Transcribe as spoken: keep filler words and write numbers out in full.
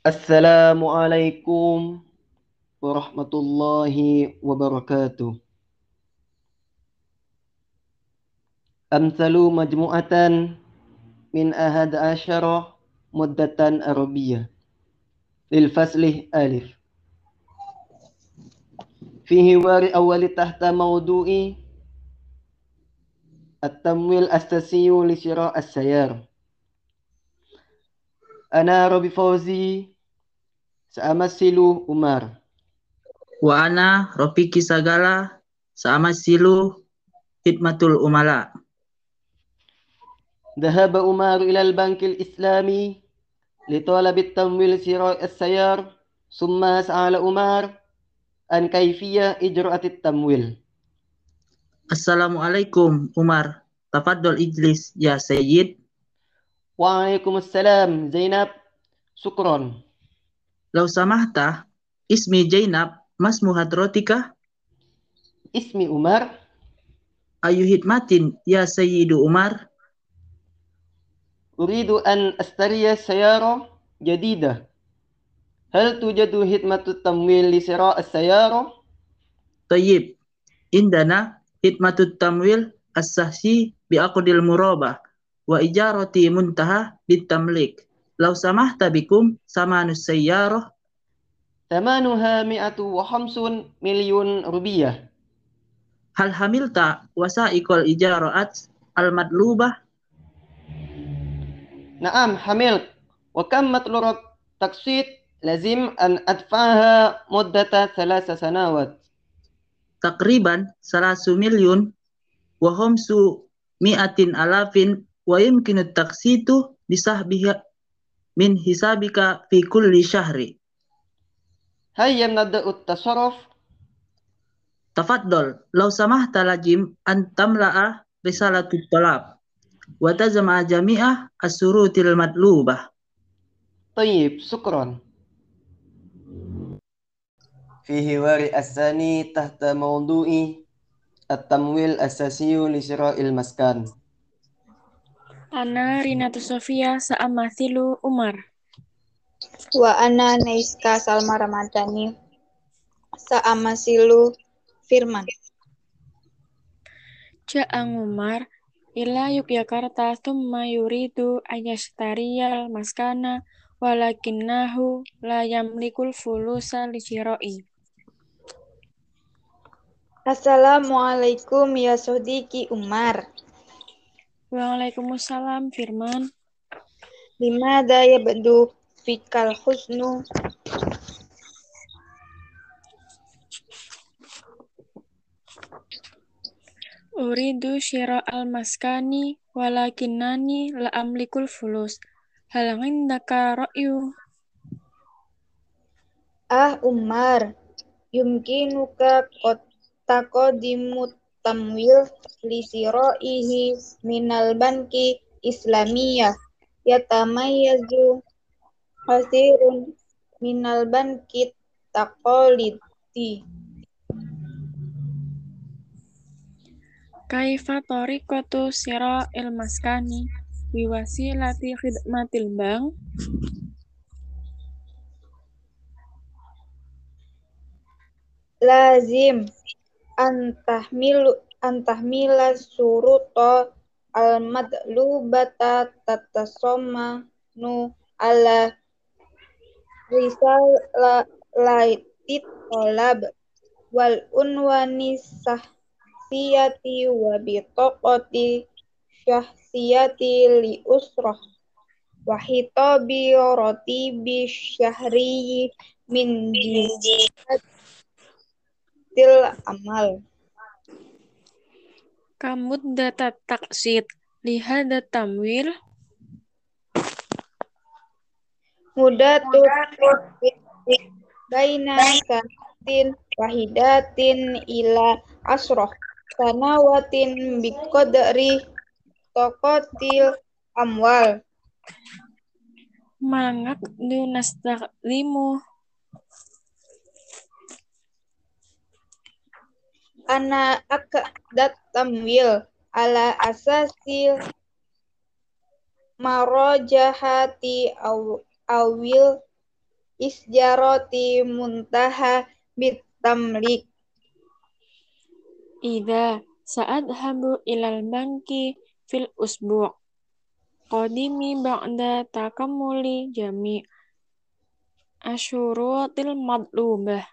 Assalamualaikum warahmatullahi wabarakatuh. Amsalu majmu'atan min ahad asyara muddatan arabiyah lil faslih alif. Fihi wari awali tahta mawdu'i at-tamwil astasiyu li syira' as-sayar. Ana Robi Fauzi sa'amasilu Umar. Wa ana Rofiki Sagala sama silu Hidmatul Umala. Dhahaba Umar ila al-bankil islami لطلب التمويل شراء السيارة ثم سأل عمر عن كيفية إجراء التمويل. Assalamualaikum Umar. Tafadhol ijlis ya Sayyid. Waalaikumsalam Zainab. Syukron. Lau samahta ismi Jainab mas muhadrotika Ismi Umar. ayu hidmatin ya Sayyidu Umar. أريد أن أشتري سيارة جديدة. هل توجد خدمة التمويل لشراء السيارة؟ Tayyib. Indana hidmatut tamwil as-sahsi biaqdil murabah wa ijarati muntaha bitamlik. Lau samahta bikum samanus sayyarah ثمنها مئة وخمسون مليون روبية. hal hamilta wasa'iqal ijaraat al-madlubah. نعم حملت. وكم مطلوب التقسيط؟ لازم أن أدفعها مدة ثلاث سنوات. Takriban salasu milyun wa khamsu mi'atin alafin wa yumkinu taksitu bisahbiha min hisabika fi kulli syahri. هيا نبدأ التصرف. Tafaddol, law samahta lajim an tamla'a risalatut talab wa tazma jami'ah as-surutil madlubah. طيب شكرا. في حوار الثاني تحت موضوع التمويل الأساسي لشراء المسكن. Ana Rinatu Sofia sa'amathilu Umar. Wa ana Naiska Salma Ramadhani sa'amasilu Firman. Ja'a Umar ila Yogyakarta thumma yuridu ayastariyal maskana walakinnahu la yamlikul fulusa li syira'i. Assalamualaikum ya sodiki Umar. Waalaikumsalam Firman. Limada yabdu fikal husnu Uridu syira'al maskani walakinnani la amlikul fulus. Hal indaka ra'yu? Ah Umar, yumkinuka qad taqadimut tamwil li siraihi minal banki islamiyah yatamayyazu kasirun minal banki taqalidi. Kaifa tariqatu syira'il maskani biwasilati khidmatil bank? Lazim antahmilu antahmila suruta al-madlubata tatasoma nu ala risal la laitit tolab wal unwani sahsiyati wa bitaqati syahsiyati li usrah wa hitabi ratibi syahri min jihatil amal. Kamuddat taqsid li hada tamwil? Mudatu baina sanatin wahidatin ila asroh sanawatin biqadri tokotil amwal. Mangak du nastaqdimu Ana akdat tamwil ala asasil marojahati aw awil isjarati muntaha bitamlik. Idza sa'adhabu ilal banki fil usbu' qadimi ba'da takamuli jami' asyurutil madlubah.